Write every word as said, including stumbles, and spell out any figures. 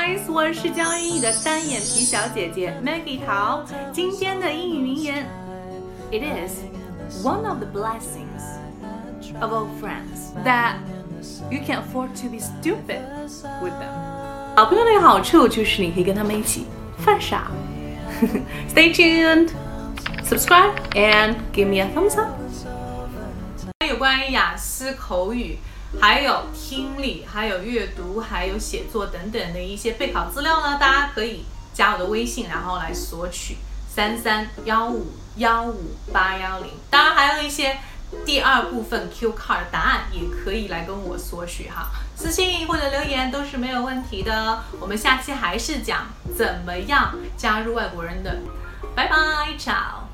guys， 我是教英语的单眼皮小姐姐 Maggie 桃。今天的英语名言 ，It is one of the blessings of old friends that you can afford to be stupid with them。好朋友的一个好处就是你可以跟他们一起犯傻。Stay tuned, subscribe and give me a thumbs up。有关于雅思口语。还有听力，还有阅读，还有写作等等的一些备考资料呢，大家可以加我的微信，然后来索取三三幺五幺五八幺零。当然还有一些第二部分 Q card 的答案也可以来跟我索取哈，私信或者留言都是没有问题的。我们下期还是讲怎么样加入外国人的，拜拜，ciao。